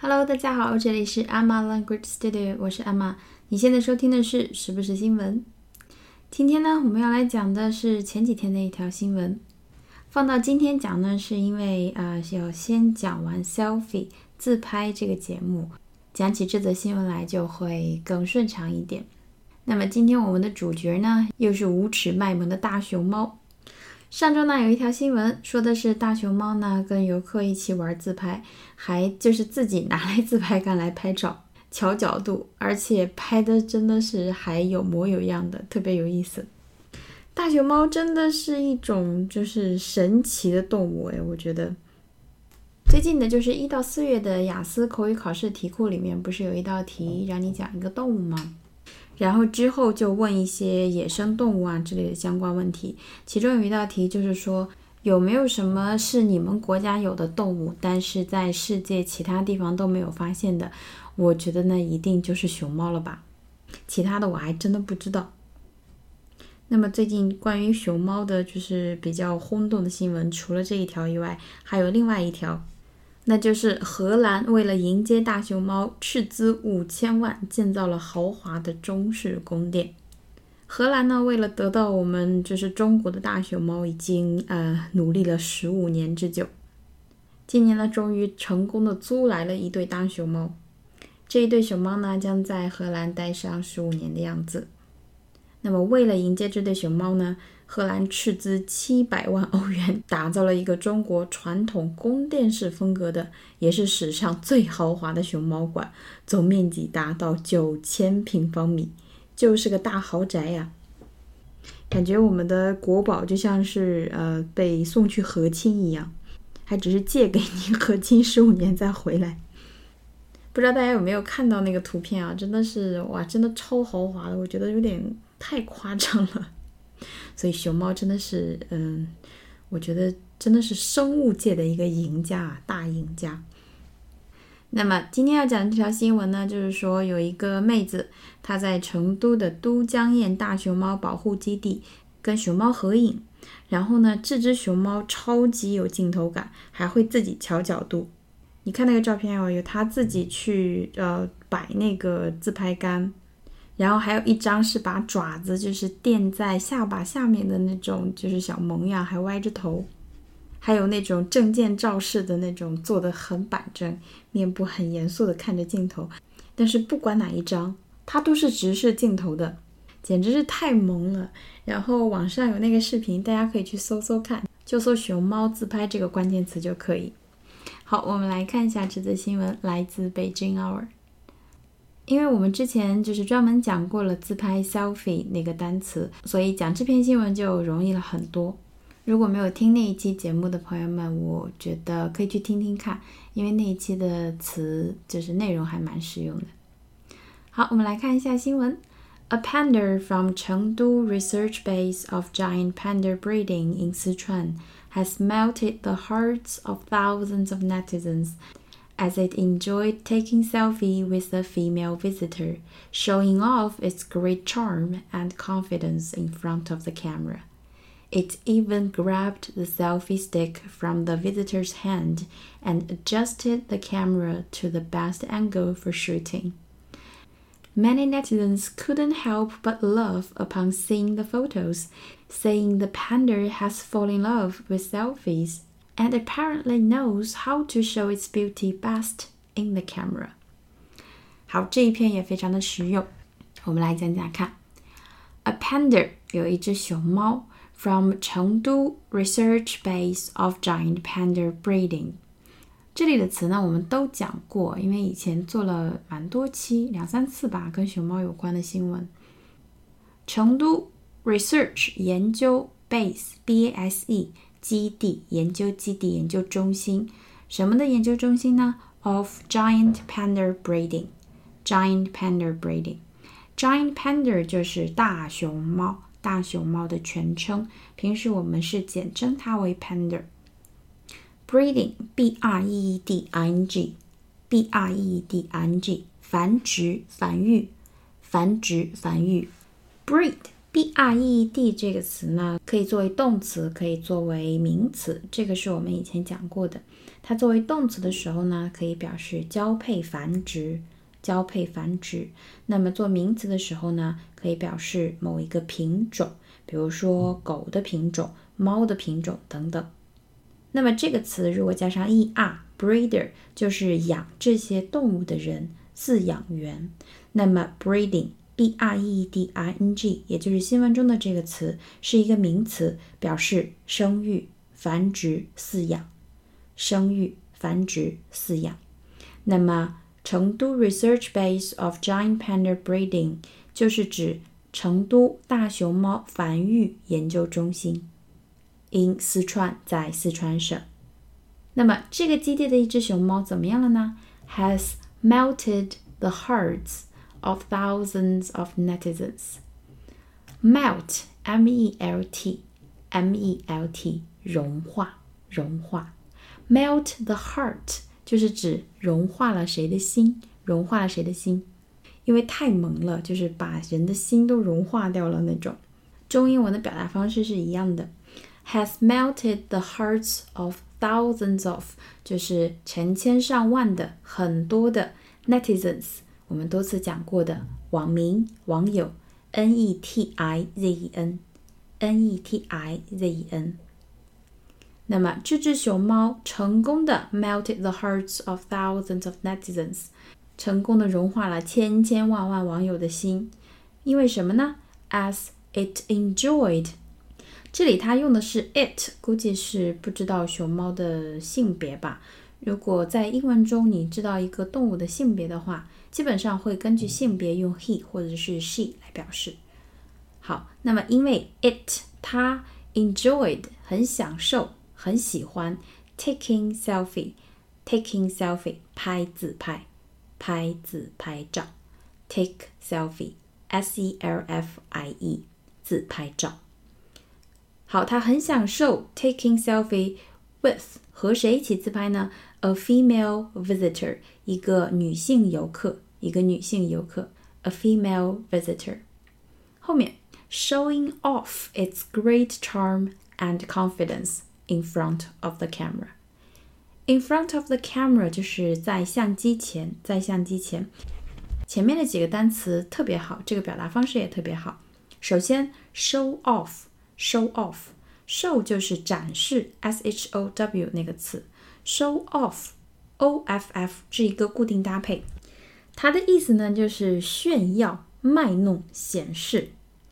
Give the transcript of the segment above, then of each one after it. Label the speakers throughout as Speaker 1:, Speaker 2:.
Speaker 1: Hello， 大家好，这里是 Emma Language Studio， 我是 Emma。你现在收听的是时不时新闻。今天呢，我们要来讲的是前几天的一条新闻。放到今天讲呢，是因为要先讲完 Selfie 自拍这个节目，讲起这则新闻来就会更顺畅一点。那么今天我们的主角呢，又是无耻卖萌的大熊猫。上周呢有一条新闻说的是大熊猫呢跟游客一起玩自拍，还就是自己拿来自拍杆来拍照，调角度，而且拍的真的是还有模有样的，特别有意思。大熊猫真的是一种就是神奇的动物我觉得。最近的就是1到4月的雅思口语考试题库里面不是有一道题让你讲一个动物吗？然后之后就问一些野生动物之类的相关问题，其中有一道题就是说有没有什么是你们国家有的动物，但是在世界其他地方都没有发现的。我觉得呢一定就是熊猫了吧，其他的我还真的不知道。那么最近关于熊猫的就是比较轰动的新闻，除了这一条以外，还有另外一条，那就是荷兰为了迎接大熊猫，斥资5000万建造了豪华的中式宫殿。荷兰呢，为了得到我们就是中国的大熊猫，已经努力了15年之久。今年呢，终于成功的租来了一对大熊猫。这一对熊猫呢，将在荷兰待上15年的样子。那么为了迎接这对熊猫呢，荷兰斥资700万欧元打造了一个中国传统宫殿式风格的，也是史上最豪华的熊猫馆，总面积达到9000平方米，就是个大豪宅呀。感觉我们的国宝就像是被送去和亲一样，还只是借给你和亲15年再回来。不知道大家有没有看到那个图片真的是真的超豪华的，我觉得有点太夸张了。所以熊猫真的是我觉得真的是生物界的一个赢家，大赢家。那么今天要讲的这条新闻呢，就是说有一个妹子，她在成都的都江堰大熊猫保护基地跟熊猫合影，然后呢这只熊猫超级有镜头感，还会自己调角度。你看那个照片有她自己去摆那个自拍杆，然后还有一张是把爪子就是垫在下巴下面的那种就是小萌呀，还歪着头，还有那种证件照式的那种坐得很板正，面部很严肃的看着镜头。但是不管哪一张它都是直视镜头的，简直是太萌了。然后网上有那个视频，大家可以去搜搜看，就搜熊猫自拍这个关键词就可以。好，我们来看一下这则新闻，来自北京 Hour。 因为我们之前就是专门讲过了自拍 selfie 那个单词，所以讲这篇新闻就容易了很多。如果没有听那一期节目的朋友们，我觉得可以去听听看，因为那一期的词就是内容还蛮实用的。好，我们来看一下新闻。A panda from Chengdu Research Base of Giant Panda Breeding in Sichuan has melted the hearts of thousands of netizens as it enjoyed taking selfie with a female visitor, showing off its great charm and confidence in front of the camera. It even grabbed the selfie stick from the visitor's hand and adjusted the camera to the best angle for shooting. Many netizens couldn't help but laugh upon seeing the photos, saying the panda has fallen in love with selfies and apparently knows how to show its beauty best in the camera. 好，这一篇也非常的实用，我们来讲讲看。A panda 有一只熊猫 from Chengdu Research Base of Giant Panda Breeding。这里的词呢我们都讲过，因为以前做了蛮多期2、3次吧，跟熊猫有关的新闻。成都 Research 研究 Base B-A-S-E 基地，研究基地，研究中心。什么的研究中心呢？ Of Giant Panda Breeding。 Giant Panda Breeding， Giant Panda 就是大熊猫，大熊猫的全称，平时我们是简称它为 Panda。Breeding B-R-E-E-D-I-N-G B-R-E-E-D-I-N-G 繁殖繁育繁殖繁育。 Breed B-R-E-E-D 这个词呢可以作为动词，可以作为名词，这个是我们以前讲过的。 它作为动词的时候呢，可以表示交配繁殖。那么做名词的时候呢，可以表示某一个品种，比如说狗的品种、猫的品种等等。那么这个词如果加上 er，breeder 就是养这些动物的人，饲养员。那么 breeding，B-R-E-E-D-I-N-G， 也就是新闻中的这个词，是一个名词，表示生育、繁殖、饲养。生育、繁殖、饲养。那么成都 Research Base of Giant Panda Breeding 就是指成都大熊猫繁育研究中心 in 四川，在四川省。那么这个基地的一只熊猫怎么样了呢？ Has melted the hearts of thousands of netizens. Melt, M-E-L-T, M-E-L-T 融化。Melt the heart 就是指融化了谁的心，因为太萌了，就是把人的心都融化掉了那种。中英文的表达方式是一样的。Has melted the hearts of thousands of 就是成千上万的，很多的 netizens， 我们多次讲过的网民、网友 N-E-T-I-Z-E-N。那么这只熊猫成功的 melted the hearts of thousands of netizens， 成功的融化了千千万万网友的心。因为什么呢？ As it enjoyed， 这里它用的是 it， 估计是不知道熊猫的性别吧。如果在英文中你知道一个动物的性别的话，基本上会根据性别用 he 或者是 she 来表示。好，那么因为 it 它 enjoyed 很享受很喜欢 taking selfie 拍自拍照 take selfie S-E-L-F-I-E 自拍照。好，他很享受 taking selfie with 和谁一起自拍呢？ A female visitor 一个女性游客 A female visitor。 后面 showing off its great charm and confidence in front of the camera. In front of the camera 就是在相机前，前面的几个单词特别好，这个表达方式也特别好。首先 show off show 就是展示 S-H-O-W 那个词， show off O-F-F 是一个固定搭配，它的意思呢就是炫耀、卖弄、显示。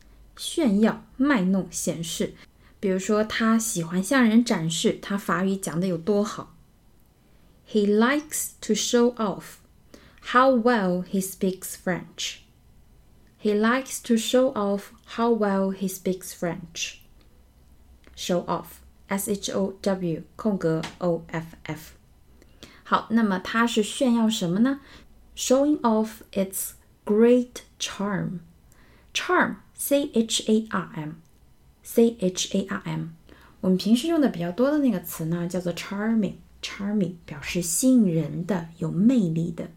Speaker 1: 比如说他喜欢向人展示他法语讲得有多好。 He likes to show off how well he speaks French. Show off S-H-O-W 空格 O-F-F。 好，那么他是炫耀什么呢？ Showing off its great charm. Charm C-H-A-R-M， 我们平时用的比较多的那个词呢，叫做 charming 表示吸引人的、有魅力的。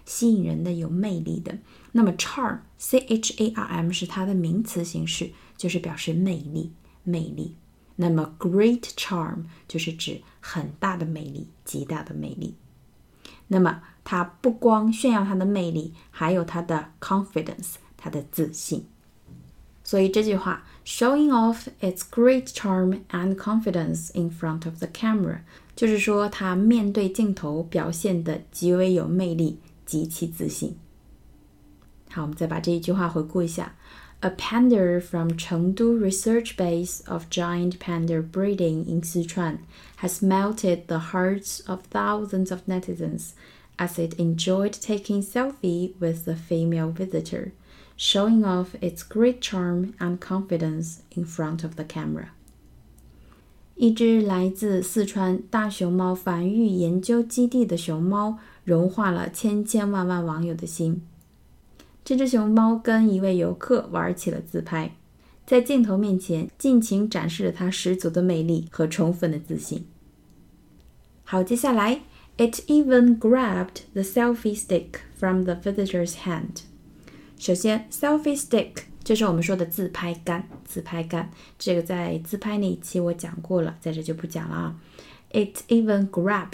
Speaker 1: 那么 charm C-H-A-R-M 是它的名词形式，就是表示魅力。那么 great charm 就是指很大的魅力、极大的魅力。那么它不光炫耀它的魅力，还有它的 confidence， 它的自信。所以这句话 showing off its great charm and confidence in front of the camera 就是说他面对镜头表现得极为有魅力，极其自信。好，我们再把这一句话回顾一下。 A panda from Chengdu Research Base of Giant Panda Breeding in Sichuan has melted the hearts of thousands of netizens as it enjoyed taking selfie with the female visitor, showing off its great charm and confidence in front of the camera. 一只来自四川大熊猫繁育研究基地的熊猫融化了千千万万网友的心。这只熊猫跟一位游客玩起了自拍，在镜头面前尽情展示了它十足的魅力和充分的自信。好，接下来 It even grabbed the selfie stick from the visitor's hand. 首先 selfie stick 就是我们说的自拍杆，这个在自拍那一期我讲过了，在这就不讲了啊。It even grabbed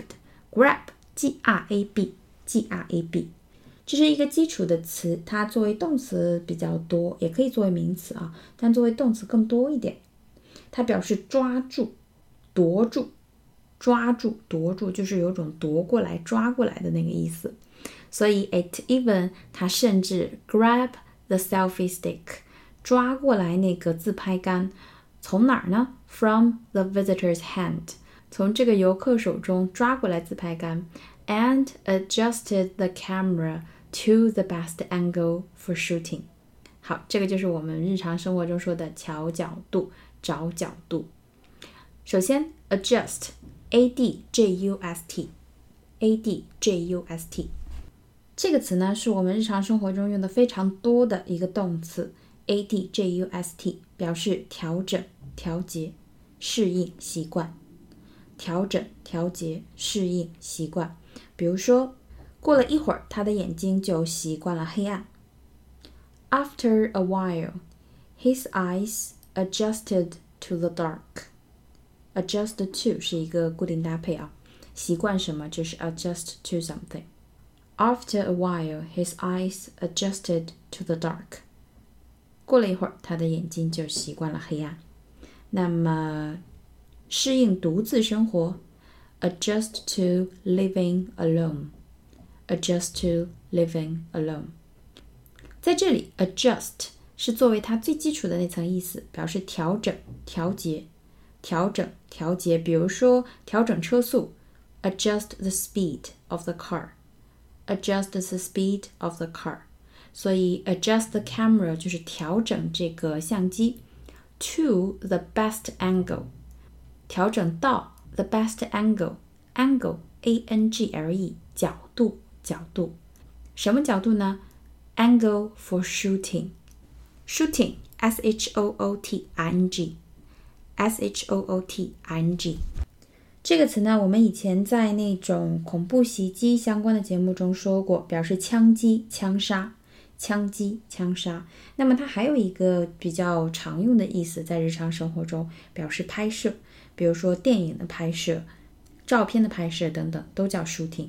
Speaker 1: grab G-R-A-B 这是一个基础的词，它作为动词比较多，也可以作为名词啊，但作为动词更多一点。它表示抓住、夺住、抓住、夺住，就是有种夺过来、抓过来的那个意思。所以 it even 它甚至 grab the selfie stick 抓过来那个自拍杆，从哪儿呢？ From the visitor's hand 从这个游客手中抓过来自拍杆 and adjusted the camera to the best angle for shooting。 好，这个就是我们日常生活中说的调角度、找角度。首先 adjust A-D-J-U-S-T A-D-J-U-S-T 这个词呢是我们日常生活中用的非常多的一个动词 A-D-J-U-S-T 表示调整、调节、适应、习惯。调整、调节、适应、习惯。比如说过了一会儿他的眼睛就习惯了黑暗。 After a while his eyes adjusted to the dark。 Adjust to 是一个固定搭配啊，习惯什么就是 adjust to something。 After a while his eyes adjusted to the dark。 过了一会儿他的眼睛就习惯了黑暗。那么适应独自生活 adjust to living alone。 Adjust to living alone。 在这里 adjust 是作为它最基础的那层意思，表示调整、调节、调整、调节。比如说调整车速 adjust the speed of the car。 Adjust the speed of the car。 所以 adjust the camera 就是调整这个相机 to the best angle， 调整到 the best angle。 Angle A-N-G-L-E 角度、角度。什么角度呢？ Angle for shooting。 Shooting S-H-O-O-T-I-N-G S-H-O-O-T-I-N-G 这个词呢我们以前在那种恐怖袭击相关的节目中说过，表示枪击、枪杀。枪击、枪杀。那么它还有一个比较常用的意思，在日常生活中表示拍摄，比如说电影的拍摄、照片的拍摄等等，都叫 shooting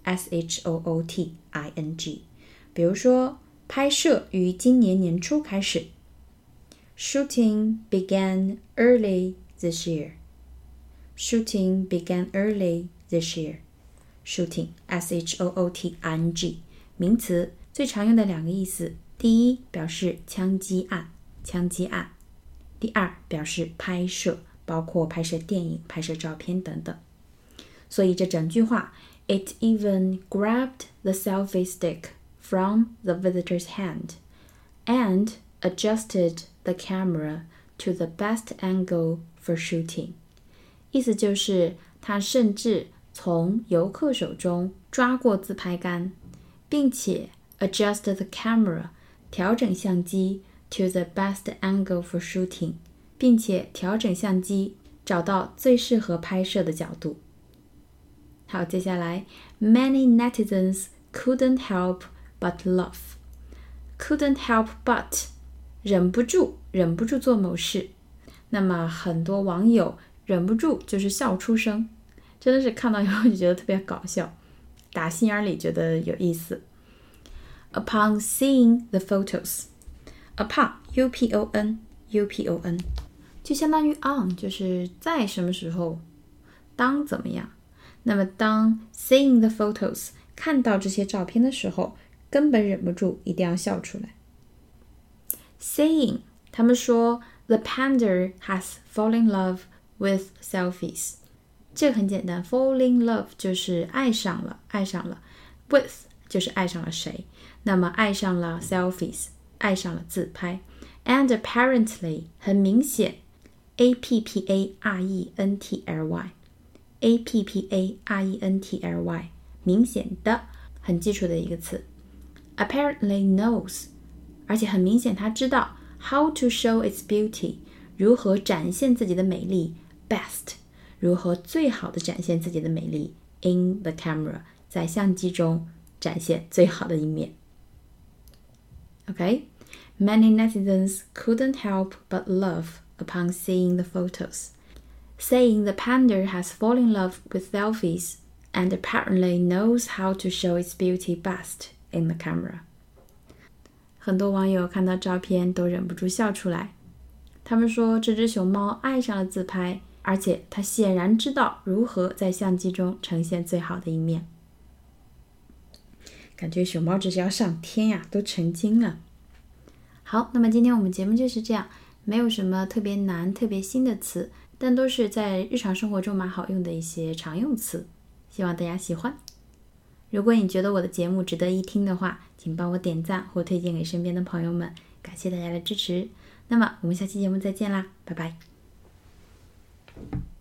Speaker 1: S-H-O-O-T-I-N-G。 比如说拍摄于今年年初开始， Shooting began early this year。 Shooting began early this year。 Shooting S-H-O-O-T-I-N-G 名词，最常用的两个意思，第一表示枪击案，枪击案；第二表示拍摄，包括拍摄电影、拍摄照片等等。所以这整句话 It even grabbed the selfie stick from the visitor's hand and adjusted the camera to the best angle for shooting。 意思就是他甚至从游客手中抓过自拍杆，并且 adjust the camera 调整相机 to the best angle for shooting， 并且调整相机找到最适合拍摄的角度。好，接下来 Many netizens couldn't help but laugh。 Couldn't help but 忍不住做某事。那么很多网友忍不住就是笑出声，真的是看到以后就觉得特别搞笑，打心眼里觉得有意思。Upon seeing the photos， upon U-P-O-N 就相当于 on， 就是在什么时候，当怎么样。那么当 seeing the photos 看到这些照片的时候，根本忍不住一定要笑出来。Saying 他们说 the panda has fallen in love with selfies， 这个很简单， fall in love 就是爱上了 with 就是爱上了谁，那么爱上了 selfies 爱上了自拍 and apparently 很明显 A-P-P-A-R-E-N-T-L-Y 明显的，很基础的一个词。 Apparently knows 而且很明显他知道 how to show its beauty 如何展现自己的美丽 best 如何最好的展现自己的美丽 in the camera 在相机中展现最好的一面。 Okay? Many netizens couldn't help but laugh upon seeing the photos. Saying the panda has fallen in love with selfies and apparently knows how to show its beauty best in the camera. 很多网友看到照片都忍不住笑出来。他们说这只熊猫爱上了自拍，而且它显然知道如何在相机中呈现最好的一面。感觉熊猫这是要上天呀，都成精了。好，那么今天我们节目就是这样，没有什么特别难、特别新的词，但都是在日常生活中蛮好用的一些常用词，希望大家喜欢。如果你觉得我的节目值得一听的话，请帮我点赞或推荐给身边的朋友们，感谢大家的支持。那么我们下期节目再见啦，拜拜。